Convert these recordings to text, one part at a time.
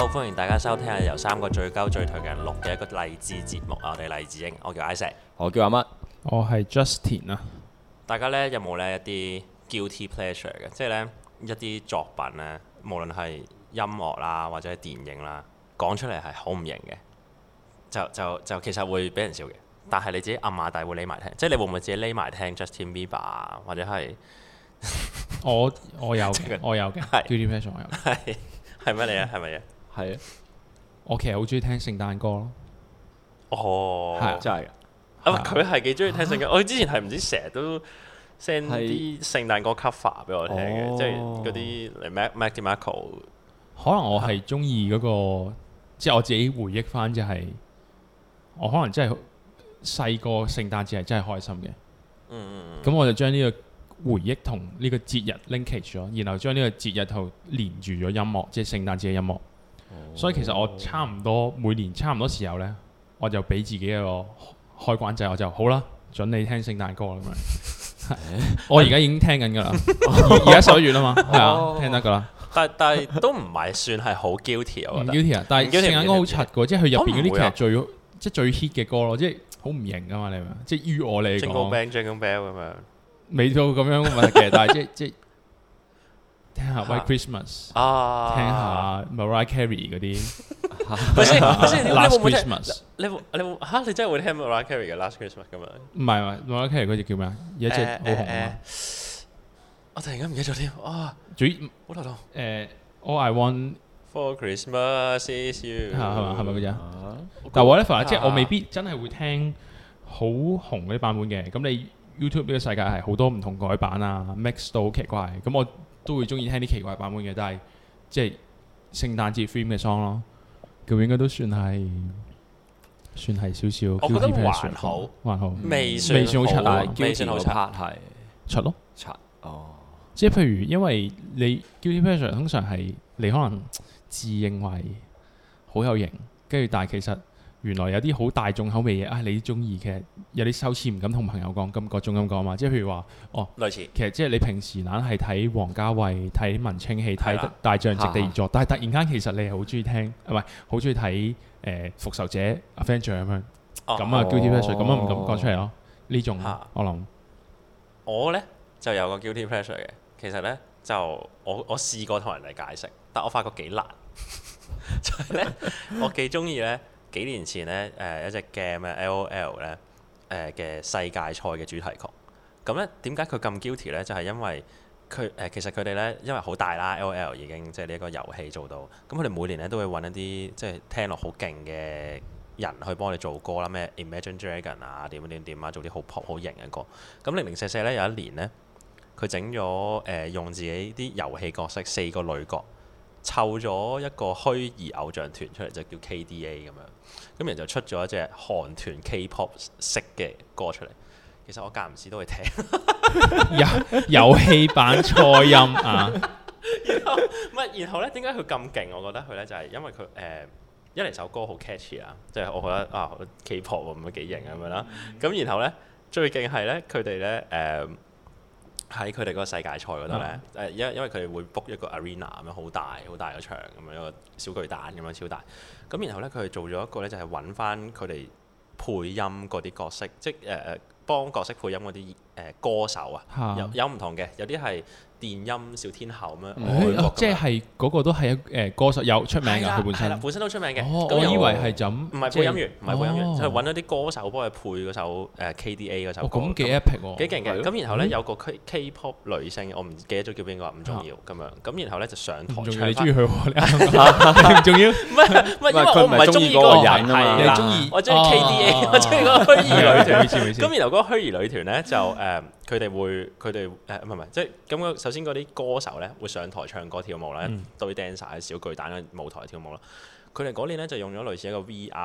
歡迎大家收聽由三個最鳩最頹嘅人錄嘅一個勵志節目啊！我哋勵志鷹，我叫 Isaac， 我叫阿乜， 我係 Justin 啊。 大家呢有冇呢一啲 guilty pleasure 嘅？即係呢一啲作品呢，無論係音樂啦或者係電影啦，講出嚟係好唔型嘅，就其實會俾人笑嘅。但係你自己暗馬底會匿埋聽，即係你會唔會自己匿埋聽 Justin Bieber 啊，或者係我有嘅，我有嘅係 guilty pleasure 我有嘅。 係乜嚟啊？係咪嘢？ 係啊， 我其實好中意聽聖誕歌咯。 哦， 係真係㗎。 啊！佢係幾中意聽聖經，我之前係唔知成日都 send 啲聖誕歌 cover 俾我聽嘅，即係嗰啲 Mac DeMarco。 可能我係中意嗰個，即係我自己回憶翻就係，我可能真係細個聖誕節係真係開心嘅。咁我就將呢個回憶同呢個節日 linkage 咗，然後將呢個節日同連住咗音樂，即係聖誕節嘅音樂。所以其實我差唔多每年差唔多時候呢，我就俾自己一個開關掣，我就好啦，準你聽聖誕歌啦咁樣。我而家已經聽緊㗎啦，而家11月啦嘛，係啊，聽得㗎啦。 但係都唔係算係好 guilty 我唔覺得。 guilty 啊，但係聖誕歌好柒嘅，即係佢入邊嗰啲其我唔會啊實即係最 hit 嘅歌咯，即係好唔型㗎嘛，你明唔明？即係於我嚟 Jingle 講， Bell，Jingle Bell 咁樣。 未到咁樣問題嘅，但係即係聽下 White Christmas， 啊， 聽下 Mariah Carey 嗰啲咪先，你會 Last 唔會聽？ Christmas， 你嚇你真係會聽 Mariah Carey 嘅 Last Christmas 咁樣？ 唔係 Mariah Carey 嗰隻叫咩啊？有一隻好紅啊嘛， 我突然間唔記得咗添，啊， 最好頭痛。 All I Want For Christmas is you， 係咪嗰隻？ 啊但係 whatever，即係我未必真係會聽好紅嗰啲版本嘅。咁你 YouTube 呢個世界係好多唔同改版啊，mix 到好奇怪。咁我都會中意聽啲奇怪版本嘅，但係即係聖誕節 theme 嘅 song 咯，咁應該都算係少少。 我覺得還好， 還好， 未算好柒啊啊， 未算好柒。 part 係柒咯。 柒哦， 即係譬如，因為你 guilty pleasure 通常係你可能自認為好有型，跟住但係其實原來有啲好大眾口味嘢啊，你中意嘅有啲羞恥唔敢同朋友講，咁嗰種咁講嘛。即係譬如話， 類似其實即係你平時懶係睇王家衛、睇文青戲、睇係啦大象席地而坐，但係突然間其實你係好中意聽，唔係好中意睇復仇者 Avenger 咁樣，咁啊 guilty pleasure 咁啊唔敢講出嚟咯。呢種我諗我呢就有個 guilty pleasure 嘅，其實呢，就我試過同人哋解釋，但我發覺幾難。就係呢，我幾中意呢幾年前呢一隻 game 咧 LOL 呢嘅世界賽嘅主題曲。咁呢點解佢咁 guilty 呢？就係因為佢其實佢哋呢，因為好大啦 LOL 已經即係呢一個遊戲做到，咁佢哋每年呢都會揾一啲即係聽落好勁嘅人去幫你做歌啦，咩 Imagine Dragon 啊，點啊，做啲好 pop 好型嘅歌。咁零零舍舍呢，有一年呢，佢整咗用自己啲遊戲角色4個女角，湊咗一個虛擬偶像團出嚟，就叫 KDA 咁樣。咁然後就出咗一隻韓團 K-pop 式嘅歌出嚟。其實我間唔時都會聽。 遊戲版初音啊！ 然後咧，點解佢咁勁？我覺得佢咧就係因為佢一嚟首歌好 catchy 啦，即係我覺得啊 K-pop 咁樣幾型咁樣啦。咁然後咧最勁係咧佢哋咧喺佢哋嗰個世界賽嗰度咧因為佢哋會 book 一個 arena 咁樣好大嘅場咁樣一個小巨蛋咁樣超大。咁然後咧佢哋做咗一個咧就係揾翻佢哋配音嗰啲角色，即係幫角色配音嗰啲歌手啊，有唔同嘅，有啲係電音小天后咁樣， 即係嗰個都係歌手有出名㗎，佢本身都出名嘅。 我以為係就咁， 唔係配音員，唔係配音員，就係揾咗啲歌手幫佢配嗰首KDA 嗰首歌。 咁幾 epic 喎， 幾勁嘅。咁然後咧有個 K-pop 女星，我唔記得咗叫邊個，唔重要咁樣。咁然後咧就上台唱。 你中意佢喎？你唔重要？ 唔係，因為我唔係中意嗰個人啊嘛。 你中意？ 我中意 KDA，我中意嗰個虛擬女團。 咁然後嗰個虛擬女團咧就佢哋唔係即係咁首先嗰啲歌手咧會上台唱歌跳舞啦，一堆 dancer 喺小巨蛋嘅舞台跳舞啦。佢哋嗰年咧就用咗類似一個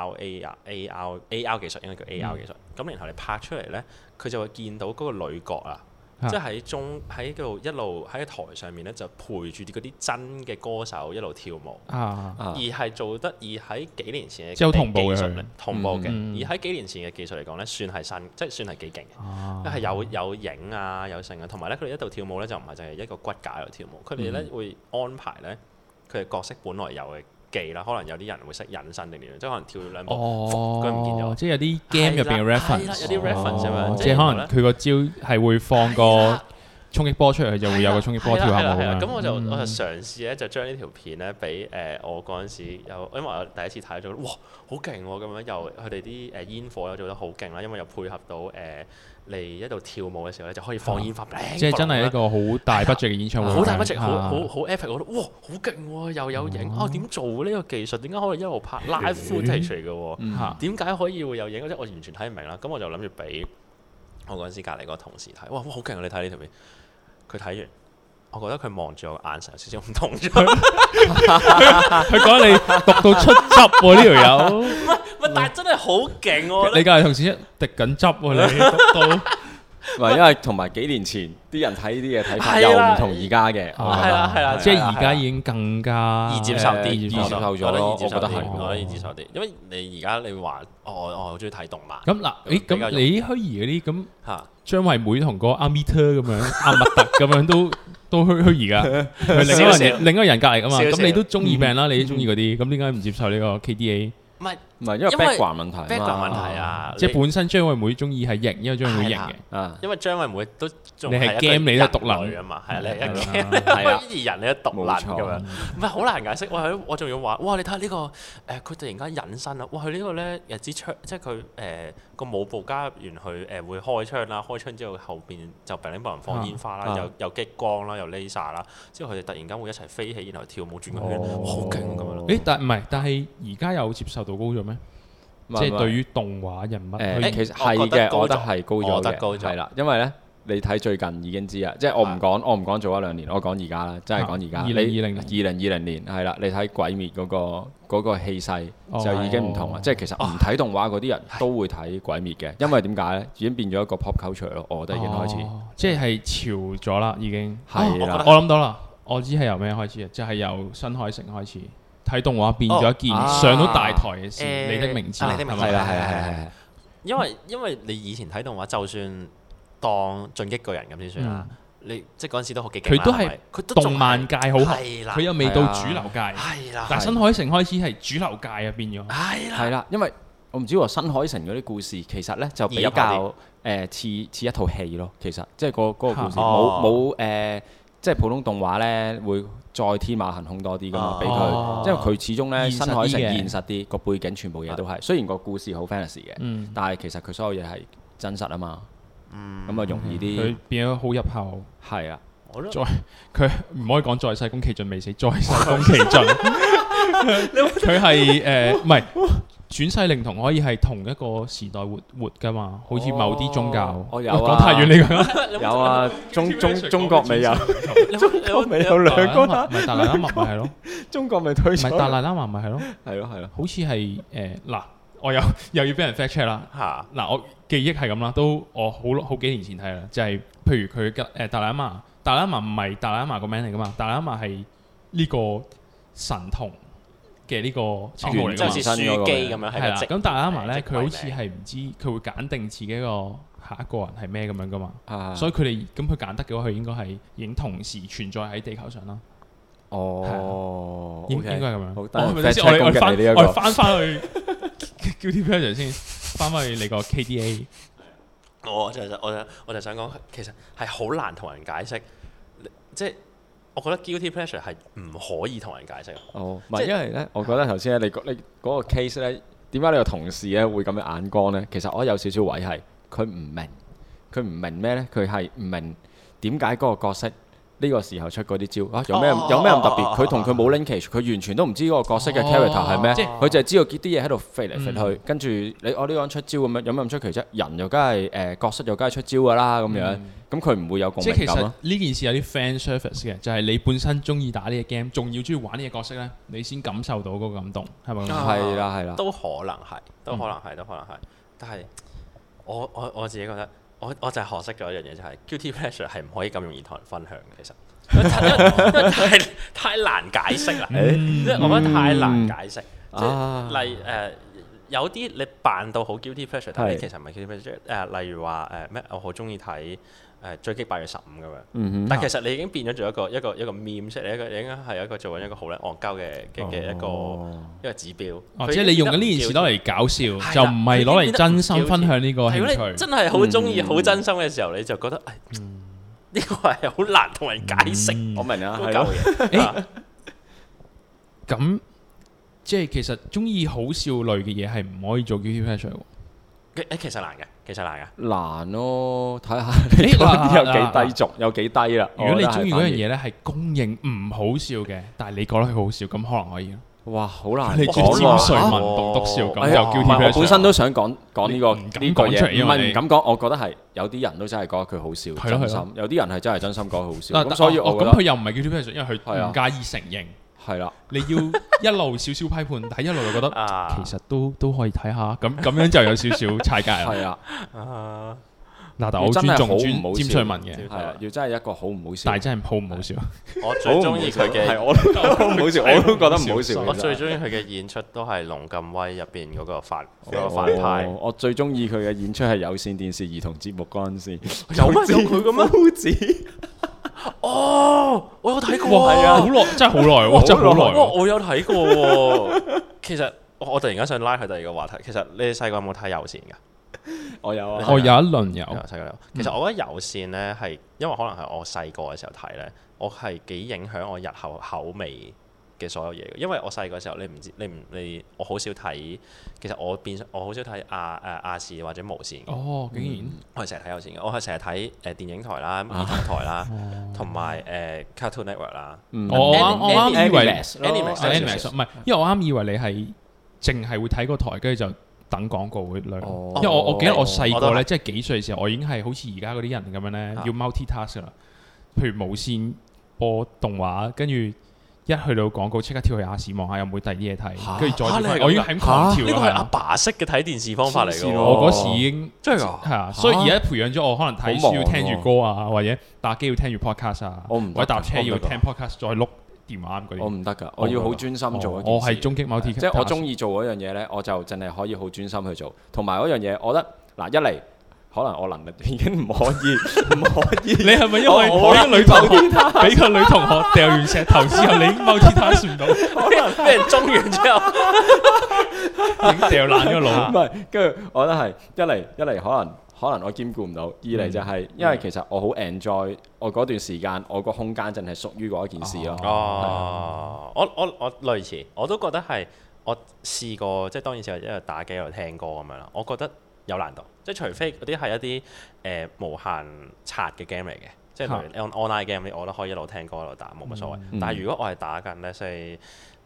VR、AR 技術，應該叫 AR 技術。咁然後你拍出嚟咧，佢就會見到嗰個女角啊。即係喺度一路喺台上面咧，就陪住嗰啲真嘅歌手一路跳舞，而係做得喺幾年前嘅即係同步嘅技術同步嘅，而喺幾年前嘅技術嚟講咧，算係新，即係算係幾勁嘅，係有影啊有成啊，同埋咧佢哋一度跳舞咧就唔係淨係一個骨架喺度跳舞，佢哋咧會安排咧佢哋角色本來有嘅技啦，可能有啲人會識隱身定點樣，即係可能跳兩步， 哦， 佢唔見咗。 即係有啲 game 入邊嘅 reference， 有啲 reference 咁樣， 即係可能佢個招係會放個衝擊波出嚟，佢就會有個衝擊波跳下舞咁樣。 咁我就嘗試咧，就將呢條片咧俾我嗰陣時有，因為我第一次睇咗，哇，好勁喎！咁樣又佢哋啲煙火又做得好勁啦，因為又配合到你一度跳舞嘅時候咧，就可以放煙花， 即係真係一個好大 budget 嘅演唱會， 好大 budget，好 epic，我覺得哇，好勁喎！又有影點做呢個技術？點解可以一路拍 live footage 嚟嘅喎？點解可以會有影？即係我完全睇唔明啦。咁我就諗住俾我嗰陣時隔離個同事睇，哇，好勁啊！你睇呢條片。佢睇完，我覺得佢望住我眼神有少少唔同咗。 佢講你讀到出汁喎，呢條友。 但係真係好勁喎！ 你隔離同事一滴緊汁喎，你讀到。 唔係，因為同埋幾年前啲人睇呢啲嘢睇法又唔同而家嘅。 係啦， 即係而家已經更加易接受啲， 易接受咗咯。我覺得係， 我覺得易接受啲，因為你而家你話我好中意睇動漫。 咁嗱，咁你虛擬嗰啲咁嚇。張惠妹同個阿米特咁樣，阿密特咁樣都虛擬㗎，另一個人隔離㗎嘛。咁你都中意病啦，你都中意嗰啲，咁點解唔接受呢個 KDA？ 唔係，因為 background 問題 ，background 問題啊， 即係本身張惠妹中意係型，因為張惠妹型嘅。 因為張惠妹都仲你係 game 你都獨立啊嘛，係你係 game，係人你都獨立咁樣，唔係好難解釋。哇！我仲要話，哇！你睇下呢個佢突然間隱身啦，哇！佢呢個咧支槍，即係佢個舞步加入完佢會開槍啦，開槍之後後邊就砰砰砰放煙花啦，有激光啦，有 laser 啦，之後佢哋突然間會一齊飛起，然後跳舞轉個圈，好勁咁樣咯。 但係而家有接受度高咗咩？即係對於動畫人物， 其實係嘅，我覺得係高咗嘅，係啦，因為咧你睇最近已經知啦，即係我唔講做一兩年，我講而家啦，真係講而家。2020年係啦，你睇鬼滅嗰個氣勢就已經唔同啦，即係其實唔睇動畫嗰啲人都會睇鬼滅嘅，因為點解咧？已經變咗一個 pop culture 咯，我覺得已經開始， 即係潮咗啦，已經係啦。 我諗到啦，我知係由咩開始啊？就係由新海誠開始。睇動畫變咗一件上到大台嘅事，你的名字係啦，係。 因為你以前睇動畫，就算當進擊巨人咁先算啦。你即係嗰陣時都好幾勁。佢都係動漫界好紅，佢又未到主流界。係啦。但係新海誠開始係主流界啊，變咗。 係啦，因為我唔知喎，新海誠嗰啲故事其實咧就比較似一套戲咯。其實即係嗰個故事冇即係普通動畫咧會再天馬行空多啲噶嘛，俾佢，因為佢始終咧新海誠現實啲，個背景全部嘢都係，雖然個故事好 fantasy 嘅，但係其實佢所有嘢係真實啊嘛，咁啊容易啲。 佢變咗好入口。 係啊， 佢唔可以講在世宮崎駿未死，在世宮崎駿，佢係唔係？轉世靈童可以係同一個時代活㗎嘛？好似某啲宗教。 我有啊。 講太遠你講。 有啊，中國未有。中國未有兩個。 唔係達賴喇嘛咪係咯。 中國未推出。 唔係達賴喇嘛咪係咯。 係咯。好似係嗱，我又要俾人 fact check 啦。嗱，我記憶係咁啦，都我好幾年前睇啦，就係譬如佢嘅達賴喇嘛，達賴喇嘛唔係達賴喇嘛個名嚟㗎嘛，達賴喇嘛係呢個神童嘅呢個稱號嚟㗎嘛， 即係書記咁樣係啦。 咁達賴喇嘛咧，佢好似係唔知佢會揀定自己個下一個人係咩咁樣㗎嘛。所以佢哋咁佢揀得嘅話，佢應該係已經同時存在喺地球上啦。應該係咁樣。 好， 我哋翻去 Guilty Pleasure 先，翻去你個 KDA。 我就想講，其實係好難同人解釋，即係。我覺得 guilty pleasure 係唔可以同人解釋。 唔係因為咧，我覺得頭先咧，你嗰個 case 咧，點解你個同事咧會咁樣眼光咧？其實我有少少位係佢唔明咩咧？佢係唔明點解嗰個角色呢個時候出嗰啲招有咩咁特別？佢同佢冇 linkage，佢完全都唔知嗰個角色嘅 character 係咩，佢就係知道啲嘢喺度飛嚟飛去，跟住呢個人出招咁樣，有咩咁出奇啫？人又梗係角色又梗係出招㗎啦咁樣。咁佢唔會有共鳴感咯。即係其實呢件事有啲 fan service 嘅，就係你本身中意打呢個 game， 仲要中意玩呢個角色咧，你先感受到嗰個感動，係咪？ 係啦。 都可能係。但係我自己覺得，我就係學識咗一樣嘢，就係 guilty pleasure 係唔可以咁容易同人分享嘅，其實。因為太難解釋啦。即係我覺得太難解釋。即係例有啲你扮到好 guilty pleasure，但係其實唔係 guilty pleasure。例如話咩？我好中意睇追擊8月15咁樣。 嗯但其實你已經變咗做一個 meme 出嚟，應該係一個做緊一個好撚戇鳩嘅一個指標。 即係你用緊呢件事攞嚟搞笑，就唔係攞嚟真心分享呢個興趣。 如果你真係好中意、好真心嘅時候，你就覺得呢個係好難同人解釋。 我明啊， 嗰係咯。 嚿嘢。 咁即係其實中意好笑類嘅嘢係唔可以做 guilty pleasure 喎。 其實難嘅， 難咯，睇下你講啲有幾低俗，有幾低啦。 如果你中意嗰樣嘢咧係公認唔好笑嘅，但係你覺得佢好笑，咁可能可以咯。 哇，好難你講尖水文喎。 棟篤笑咁哎呀就 guilty 我 pleasure。 本身都想講呢個唔敢呢個嘢， 講出嚟因唔為你係唔敢講。我覺得係有啲人都真係覺得佢好笑， 係咯真心。有啲人係真係真心覺得好笑。 嗱咁所以我覺得咁佢又唔係 guilty pleasure，因為佢係啊唔介意承認。 係啦。 你要一路少少批判，但係一路就覺得啊其實都可以睇下，咁樣就有少少踩界啦。 係啊。 嗱，但我好尊重尖翠文嘅， 係啊，要真係一個好唔好笑。 但係真係好唔好笑。 我最中意佢嘅， 係我都好唔好笑，我都覺得唔好笑。 我最中意佢嘅演出都係《龍咁威》入邊嗰個反派。 我最中意佢嘅演出係有線電視兒童節目嗰陣時， 有佢嘅咩？ 夫子。 哦，我有睇過。 係啊，好耐，真係好耐喎，真係好耐喎。 我有睇過喎。其實我突然間想拉佢第二個話題。其實你哋細個有冇睇有線㗎？ 我有啊， 我有一輪有。 細個有。其實我覺得有線呢係，因為可能係我細個嘅時候睇呢，我係幾影響我日後口味嘅所有嘢嘅。因為我細個時候我好少睇，其實我好少睇亞視或者無線。 哦，竟然我係成日睇有線嘅，我係成日睇電影台啦、兒童台啦，同埋Cartoon Network 啦。 我啱以為 Animax 唔係，因為我啱以為你係淨係會睇個台，跟住就等廣告會兩。因為我記得我細個咧，即係幾歲嘅時候，我已經係好似而家嗰啲人咁樣咧，要 multitask 啦。譬如無線播動畫，跟住一去到廣告，即刻跳去亞視望下有冇第二啲嘢睇，跟住再我已經係咁狂跳呢個係阿啦。 爸式嘅睇電視方法嚟㗎喎。 我嗰時已經真係㗎。 係啊，所以而家培養咗我可能睇書要聽住歌啊，或者打機要聽住 podcast 啊，或者搭車要聽 podcast 再碌電話嗰啲。 我唔得㗎，我要好專心做一件事。 我係終極 multi， 即係我中意做嗰樣嘢咧，我就淨係可以好專心去做。同埋嗰樣嘢，我覺得嗱，一嚟可能我能力已經唔可以。 你係咪因為我啲女同學俾個女同學掉完石頭之後，你已經 multitask 唔到， 俾人中完之後， 已經掉爛咗腦。 唔係，跟住我覺得係一嚟可能我兼顧唔到，二嚟就係因為其實我好 enjoy 我嗰段時間，我個空間淨係屬於嗰一件事咯。 我類似，我都覺得係我試過，即係當然係一路打機一路聽歌咁樣啦。我覺得有難度，即係除非嗰啲係一啲無限刷嘅 game 嚟嘅，即係例如 online game，我覺得可以一路聽歌一路打冇乜所謂。但係如果我係打緊咧，即係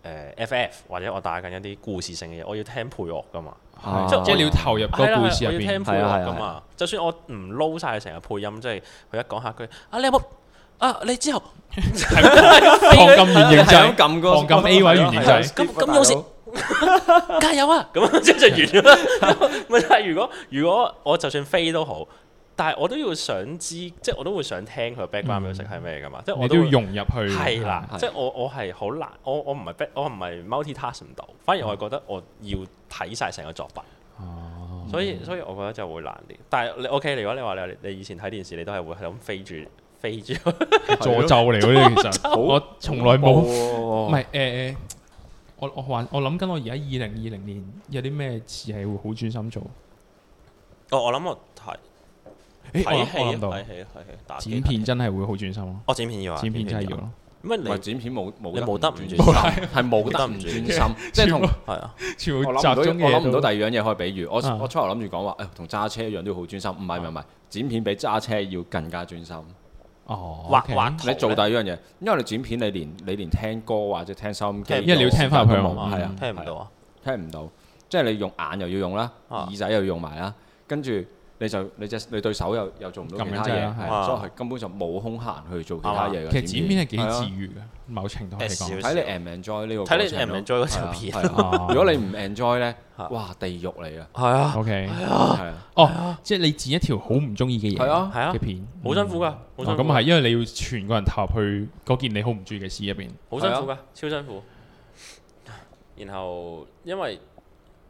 FF 或者我打緊一啲故事性嘅嘢，我要聽配樂噶嘛。 即係你要投入個故事入邊， 我要聽配樂噶嘛。就算我唔撈晒成個配音，即係佢一講下句你有冇你之後放咁原型仔， 放咁 A 位原型仔， 咁有時加油啊！咁即係完咗啦。但係如果我就算飛都好，但係我都要想知，即係我都會想聽佢 background music 係咩噶嘛。即係我都要融入去。 係啦，即係我係好難，我唔係 multitask 唔到，反而我係覺得我要睇晒成個作品。所以我覺得就會難啲。但係你 OK，如果你話你以前睇電視，你都係會係咁飛住詛咒嚟嗰啲，其實我從來冇。唔係我諗緊我而家2020年有啲咩事係會好專心做。 我諗我睇戲剪片真係會好專心咯。 我剪片要啊， 剪片真係要咯。 唔係剪片冇得唔專心， 係冇得唔專心，即係同係啊。 我諗唔到第二樣嘢可以比喻。我初頭諗住講話同揸車一樣都好專心，唔係，剪片比揸車要更加專心。 畫你做第二樣嘢，因為你剪片你連聽歌或者聽收音機， 因為你要聽翻入去嘛， 係啊， 聽唔到啊， 聽唔到，即係你用眼又要用啦，耳仔又要用埋啦，跟住你對手又做唔到其他嘢，所以係根本就冇空閒去做其他嘢嘅。 其實剪片係幾治愈嘅，某程度嚟講。 睇你 enjoy 呢個， 睇你 enjoy 嗰條片。 如果你唔 enjoy 咧，哇，地獄嚟啊！ 係啊 ，OK， 係啊， 即係你剪一條好唔中意嘅嘢嘅片， 好辛苦㗎。 咁係因為你要全個人投入去嗰件你好唔中意嘅事入邊， 好辛苦㗎，超辛苦。然後因為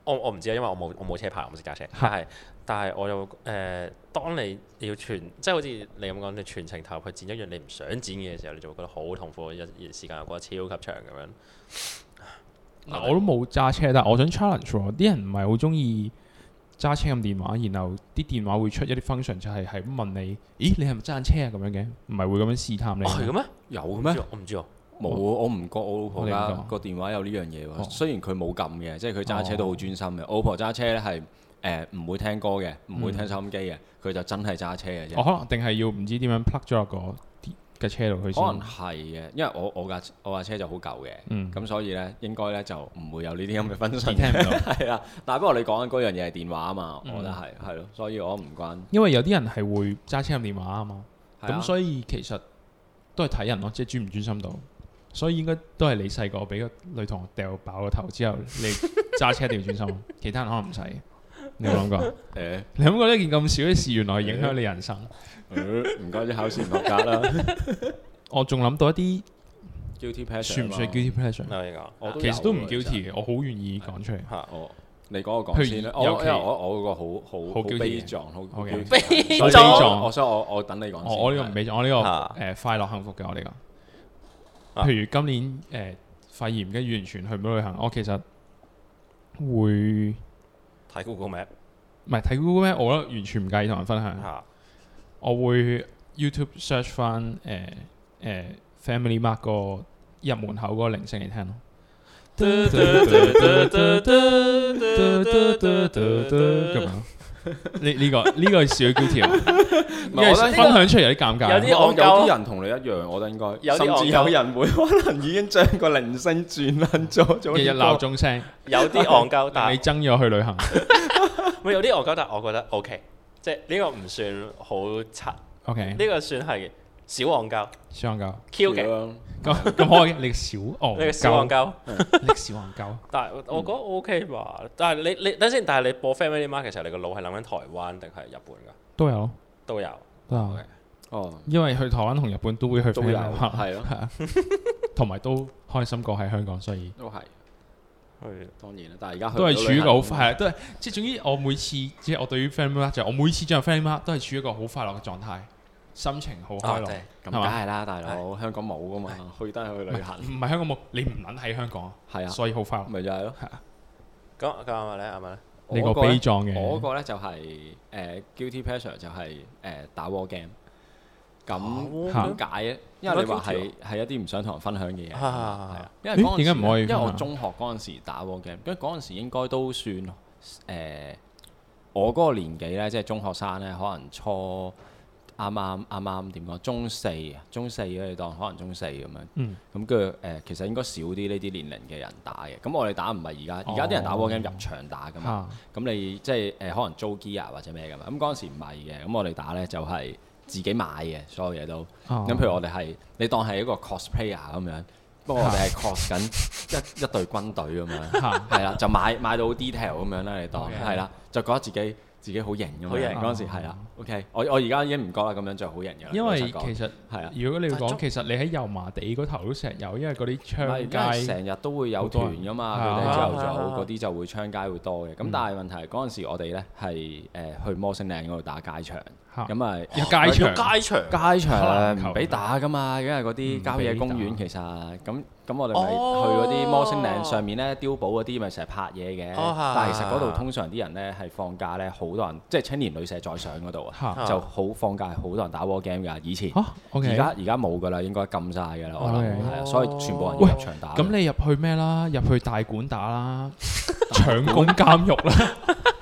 我唔知啊，因為我冇車牌，我唔識駕車。但係我又當你要即係好似你咁講，你全程投入去剪一樣你唔想剪嘅時候，你就會覺得好痛苦，時間又過得超級長咁樣。 我都冇揸車，但係我想 challenge 喎，啲人唔係好中意揸車撳電話，然後啲電話會出一啲 function 就係咁問你，咦你係咪揸緊車啊咁樣嘅？唔係會咁樣試探你？ 係嘅咩？ 有嘅咩？ 我唔知喎。 冇，我唔覺我老婆家個電話有呢樣嘢喎。雖然佢冇撳嘅，即係佢揸車都好專心嘅。我老婆揸車咧係唔會聽歌嘅，唔會聽收音機嘅，佢就真係揸車嘅啫。 可能定係要唔知點樣 plug 咗落個車度佢先。 可能係嘅，因為我架車就好舊嘅，咁所以咧應該咧就唔會有呢啲咁嘅分析。 聽唔到。 係啊，但係不過你講緊嗰樣嘢係電話啊嘛，我覺得係咯，所以我唔關。 因為有啲人係會揸車撳電話啊嘛，咁啊所以其實都係睇人咯，即係專唔專心到。所以應該都係你細個俾個女同學掉爆個頭之後，你揸車一定要專心，其他人可能唔使。你有冇諗過？你諗過呢件咁少嘅事，原來影響你人生？ 唔該啲考試唔合格啦。 我仲諗到一啲 guilty pleasure 算唔算 guilty pleasure？其實都唔 guilty 嘅，我好願意講出嚟。 你講我講先啦。因為我個好悲壯，好悲壯。所以我等你講先。 我呢個唔悲壯，我呢個快樂幸福嘅我呢個。譬如今年肺炎跟住完全去唔到旅行，我其實會睇 Google Map， 唔係睇 Google Map，我覺得完全唔介意同人分享。我會 YouTube search 翻Family Mart 個入門口嗰個鈴聲嚟聽咯。咁樣呢個係小 guilty 啊！因為分享出嚟有啲尷尬。 有啲人同你一樣，我覺得應該，甚至有人會可能已經將個鈴聲轉撚咗， 日日鬧鐘聲。 有啲戇鳩，但係你憎咗去旅行。 喂，有啲戇鳩，但係我覺得 OK，即係呢個唔算好柒。OK，呢個算係小戇鳩。 小戇鳩。 Q 嘅。 咁可以，你小戇鳩。 你小戇鳩。 你小戇鳩。 但係我覺得 OK 吧。但係你等先，但係你播 Family Mart 其實你個腦係諗緊台灣定係日本㗎？ 都有。 都有。 因為去台灣同日本都會去 Family Mart， 係咯， 同埋都開心過喺香港，所以都係。當然啦，但係而家都係處於一個好係都係即係總之我每次即係我對於 Family Mart 就我每次進入 Family Mart 都係處於一個好快樂嘅狀態。心情好開朗， 咁梗係啦，大佬，香港冇噶嘛，去得去旅行。 唔係香港冇，你唔撚喺香港， 係啊， 所以好快樂。 咪就係咯， 係啊。 咁阿麥咧， 呢個悲壯嘅， 我嗰個咧就係guilty pleasure 就係打 war game。咁點解咧？因為你話係一啲唔想同人分享嘅嘢，係啊。因為嗰陣時， 點解唔可以？ 因為我中學嗰陣時打 war game，因為嗰陣時應該都算我嗰個年紀咧，即係中學生咧，可能啱啱點講？中四你當可能中四咁樣。咁跟住其實應該少啲呢啲年齡嘅人打嘅。咁我哋打唔係而家啲人打 war game 入場打噶嘛。咁你即係可能租 gear 或者咩噶嘛。咁嗰陣時唔係嘅。咁我哋打咧就係自己買嘅，所有嘢都。咁譬如我哋係你當係一個 cosplayer 咁樣，不過我哋係 cos 緊一隊軍隊咁樣。係啦，就買到 detail 咁樣啦，你當係啦，就覺得自己好型咁樣。嗰陣時係啦。OK，我而家已經唔覺啦，咁樣就好型嘅啦。 因為其實係啊， 如果你要講，其實你喺油麻地嗰頭都成日有，因為嗰啲槍街成日都會有團噶嘛，佢哋朝頭早嗰啲就會槍街會多嘅。咁但係問題嗰陣時我哋咧係去摩星嶺嗰度打街場，咁啊有街場唔俾打噶嘛，因為嗰啲郊野公園其實咁我哋咪去嗰啲摩星嶺上面咧碉堡嗰啲咪成日拍嘢嘅，但係其實嗰度通常啲人咧係放假咧，好多人即係青年旅社再上嗰度啊，就好放假係好多人打 war game 㗎。以前而家冇㗎啦，應該禁晒㗎啦，我諗係啊，所以全部人要入場打。 咁你入去咩啦？入去大館打啦，搶攻監獄啦。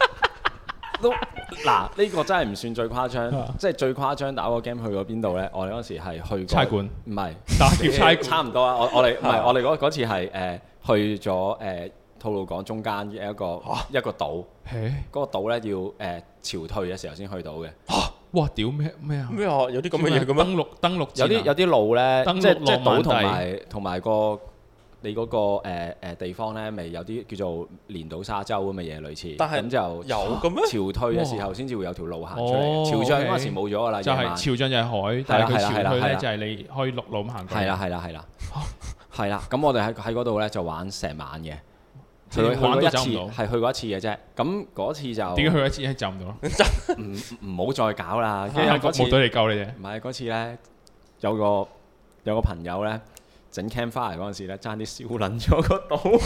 嗱，呢個真係唔算最誇張，即係最誇張打 war game 去過邊度咧？我哋嗰時係去過差館， 唔係打劫差館， 差唔多啊！我哋唔係我哋嗰次係去咗吐露港中間嘅一個島，嗰個島咧要潮退嘅時候先去到嘅。 哇！屌咩啊？ 咩啊？有啲咁嘅嘢嘅咩？ 登陸有啲路咧，即係島同埋個你嗰個地方咧，咪有啲叫做連島沙洲咁嘅嘢類似。但係咁就有嘅咩？ 潮退嘅時候先至會有條路行出嚟。潮漲嗰陣時冇咗㗎啦， 就係潮漲就係海，但係佢潮退咧就係你可以陸路咁行過。 係啦。咁我哋喺嗰度咧就玩成晚嘅。 玩去過一次， 到走唔到。 係去過一次嘅啫。咁嗰次就點解去一次係走唔到啊？ 唔好再搞啦。跟係住嗰次服務隊嚟救你啫。 唔係嗰次咧，有個朋友咧整 campfire 嗰陣時咧，爭啲燒撚咗個島。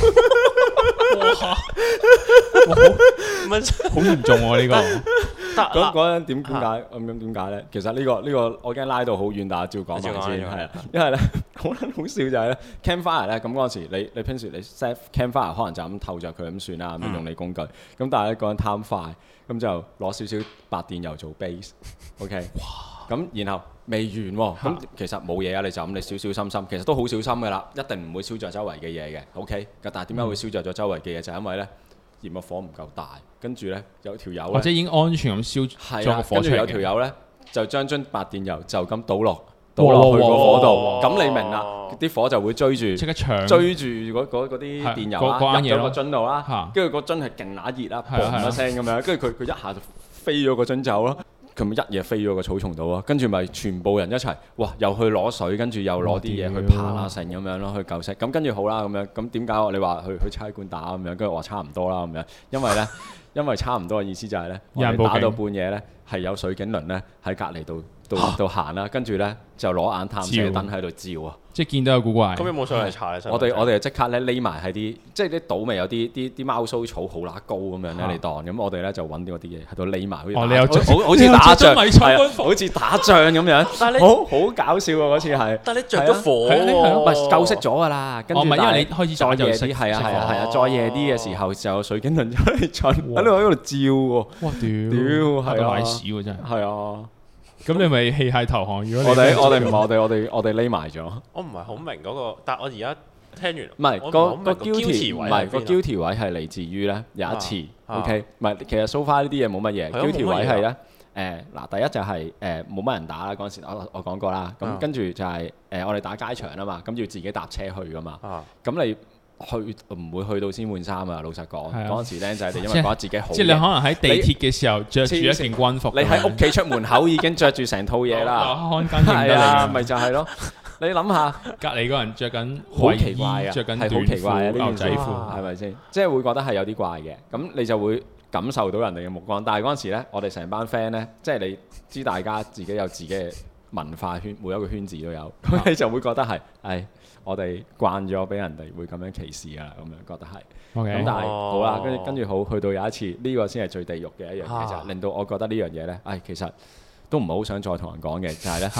唔係好嚴重喎呢個。 嗰陣點解咁點解咧？其實呢個我驚拉到好遠，但係照講埋先係啦。因為咧好撚好笑就係咧 campfire 咧，咁嗰陣時你平時你 set campfire 可能就咁透着佢咁算啦，咁用你工具。咁但係咧嗰陣貪快，咁就攞少少白電油做 base。OK。哇！咁然後未完喎，咁其實冇嘢啊，你就咁你小小心心，其實都好小心㗎啦，一定唔會燒着周圍嘅嘢嘅。OK。但係點解會燒着咗周圍嘅嘢？就係因為咧嫌個火唔夠大，跟住咧有條友或者已經安全咁燒咗個火出嚟嘅。 跟住有條友咧就將樽白電油就咁倒落去個火度，咁你明啦，啲火就會追住即刻搶追住嗰啲電油啦，入咗個樽度啦，跟住個樽係勁乸熱啦，砰一聲咁樣，跟住佢一下就飛咗個樽走咯。佢咪一嘢飛咗個草叢度啊！跟住咪全部人一齊，哇！又去攞水，跟住又攞啲嘢去爬啊成咁樣咯，去救熄。咁跟住好啦咁樣，咁點解你話去差館打咁樣？跟住我話差唔多啦咁樣，因為差唔多嘅意思就係咧，我哋打到半夜咧，係有水警輪咧喺隔離度行啦，跟住咧就攞眼探射燈喺度照啊！ 即係見到有古怪。 咁有冇上嚟查咧？ 我哋就即刻咧匿埋喺啲，即係啲島咪有啲貓鬚草好乸高咁樣咧嚟當，咁我哋咧就揾啲嗰啲嘢喺度匿埋，好似打仗，好似打仗咁樣。但係好搞笑喎嗰次係。 但係你着咗火唔係救熄咗㗎啦。跟住因為你開始再夜啲，係啊，再夜啲嘅時候就有水警輪出嚟巡喺度照喎。 哇屌！係啊，瀨屎喎真係。 係啊。 咁你咪棄械投降？如果我哋匿埋咗。 我唔係好明嗰個，但係我而家聽完唔係個 guilty 唔係個 guilty 位係嚟自於咧有一次 OK 唔係其實 so far 呢啲嘢冇乜嘢 guilty 位係咧嗱第一就係冇乜人打啦嗰陣時我講過啦咁跟住就係我哋打街場啊嘛咁要自己搭車去噶嘛咁你去唔會去到先換衫啊！老實講，嗰陣時僆仔哋因為覺得自己好， 即係你可能喺地鐵嘅時候着住一件軍服， 你喺屋企出門口已經着住成套嘢啦，係啊，咪就係咯。你諗下， 隔離嗰人着緊好奇怪啊， 着緊係好奇怪啊！呢牛仔褲係咪先？即係會覺得係有啲怪嘅，咁你就會感受到人哋嘅目光。但係嗰陣時咧，我哋成班 friend 咧，即係你知大家自己有自己嘅文化圈，每一個圈子都有，咁你就會覺得係我哋慣咗俾人哋會咁樣歧視啊，咁樣覺得係。咁但係好啦，跟住好去到有一次，呢個先係最地獄嘅一樣嘢就令到我覺得呢樣嘢咧，其實都唔係好想再同人講嘅，就係咧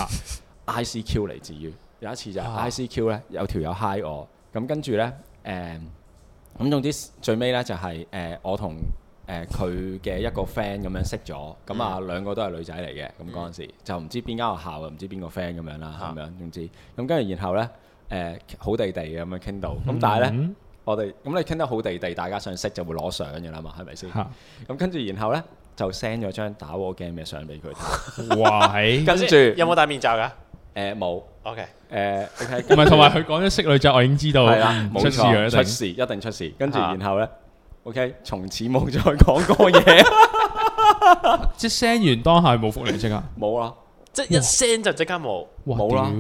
ICQ 嚟自於有一次就係 ICQ 咧有條友 hi 我，咁跟住咧咁總之最尾咧就係我同佢嘅一個 friend 咁樣識咗，咁啊兩個都係女仔嚟嘅，咁嗰陣時就唔知邊間學校唔知邊個 friend 咁樣啦，咁樣總之咁跟住然後咧。好地地咁樣傾到，咁但係咧，我哋咁你傾得好地地，大家想識就會攞相嘅啦嘛，係咪先？咁跟住然後咧就 send 咗張打 war game 嘅相俾佢睇。哇！跟住有冇戴面罩㗎？ 冇。 OK。 唔係同埋佢講咗識女仔，我已經知道。 係啦，冇錯，一定出事。跟住然後咧 ，OK，從此冇再講過嘢。 即係 send 完當下冇覆你即刻。 冇啦， 即係一 send 就即刻冇。 冇啦。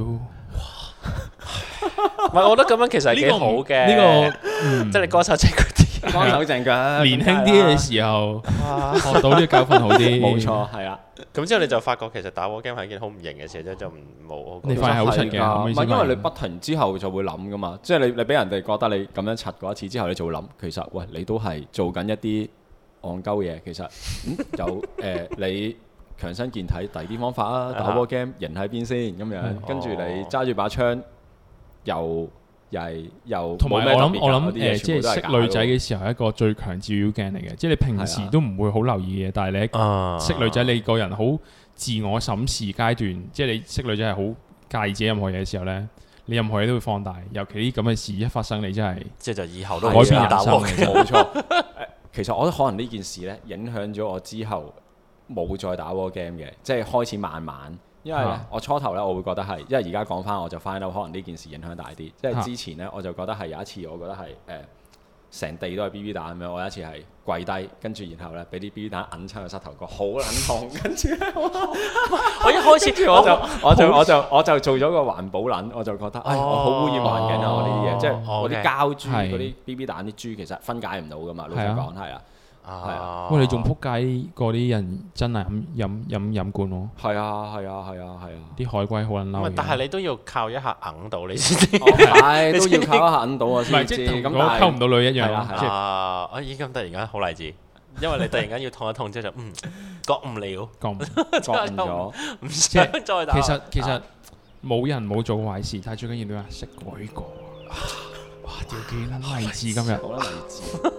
唔係，我覺得咁樣其實係幾好嘅。呢個即係你乾手淨腳啲， 乾手淨腳。 年輕啲嘅時候學到呢個教訓好啲。 冇錯，係啊。 咁之後你就發覺其實打 war game 係一件好唔型嘅事，就冇。 你發現好柒嘅， 唔係因為你不停之後就會諗噶嘛，即係你俾人哋覺得你咁樣柒過一次之後，你就會諗其實喂你都係做緊一啲戇鳩嘢，其實有你。強身健體，第二啲方法啊！打 war game 型喺邊先咁樣，跟住你揸住把槍，又同埋我諗即係識女仔嘅時候係一個最強照妖鏡嚟嘅，即係你平時都唔會好留意嘅，但係你識女仔，你個人好自我審視階段，即係你識女仔係好介意自己任何嘢嘅時候咧，你任何嘢都會放大，尤其啲咁嘅事一發生，你真係即係就以後都改變人生。 冇錯，其實我覺得可能呢件事咧影響咗我之後。冇再打 war game 嘅，即係開始慢慢，因為我初頭咧我會覺得係，因為而家講翻我就 find out 可能呢件事影響大啲，即係之前咧我就覺得係有一次我覺得係成地都係 BB 彈咁樣。我有一次係跪低，跟住然後咧俾啲 BB 彈揞親個膝頭哥，好撚痛。跟住咧我一開始我就做咗個環保撚，我就覺得我好污染環境啊！我呢啲嘢，即係我啲膠珠嗰啲 BB 彈啲珠，其實分解唔到噶嘛。老實講係啊。 啊！ 喂，你仲撲街過啲人真係飲罐喎！ 係啊！ 啲海龜好撚嬲。 但係你都要靠一下揞到你先知。 係都要靠一下揞到啊唔係先知。咁即係同嗰個溝唔到女一樣咯。即係咦咁突然間好勵志，因為你突然間要痛一痛之後就覺悟了， 講覺悟咗。 唔想再打。 其實冇人冇做壞事，但係最緊要你話識改過。哇！屌幾撚勵志今日， 好撚勵志。